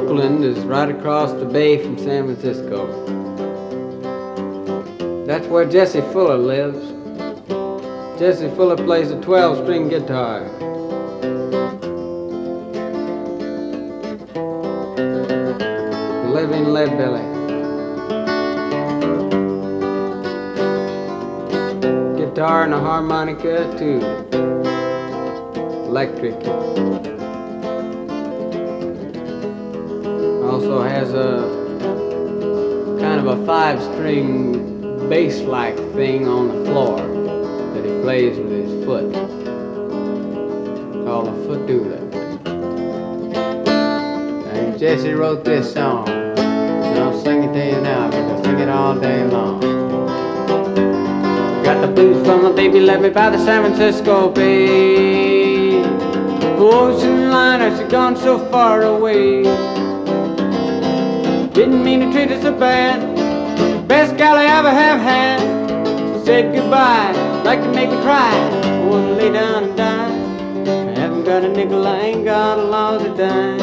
Oakland is right across the bay from San Francisco. That's where Jesse Fuller lives. Jesse Fuller plays a 12-string guitar. Living Leadbelly. Guitar and a harmonica too. Electric. Also has a kind of a 5-string bass-like thing on the floor that he plays with his foot, called a footooler. And Jesse wrote this song, and I'll sing it to you now because I sing it all day long. Got the blues from my baby left me by the San Francisco Bay. Ocean liner, she gone so far away. Didn't mean to treat her so bad. Best gal I ever have had. She said goodbye, like to make me cry. I wanna lay down and die. I haven't got a nickel, I ain't got a lousy dime.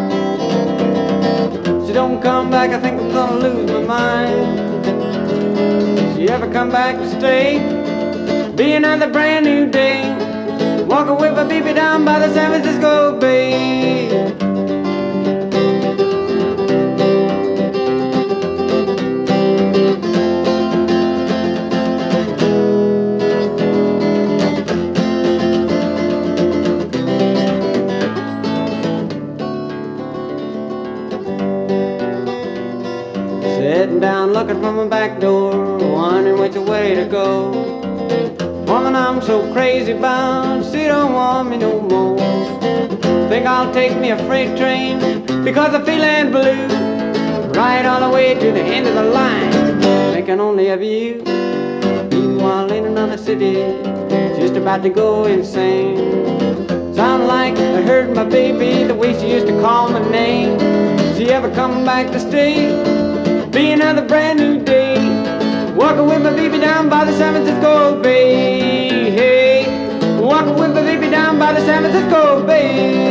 She don't come back, I think I'm gonna lose my mind. She ever come back to stay? Be another brand new day. Walking with my baby down by the San Francisco Bay. Sitting down looking from my back door, wondering which way to go. Woman I'm so crazy about, she don't want me no more. Think I'll take me a freight train, because I'm feeling blue. Ride all the way to the end of the line, thinking only of you. Meanwhile in another city, just about to go insane. Sound like I heard my baby, the way she used to call my name. She ever come back to stay? Be another brand new day. Walking with my baby down by the San Francisco Bay. Hey, walking with my baby down by the San Francisco Bay.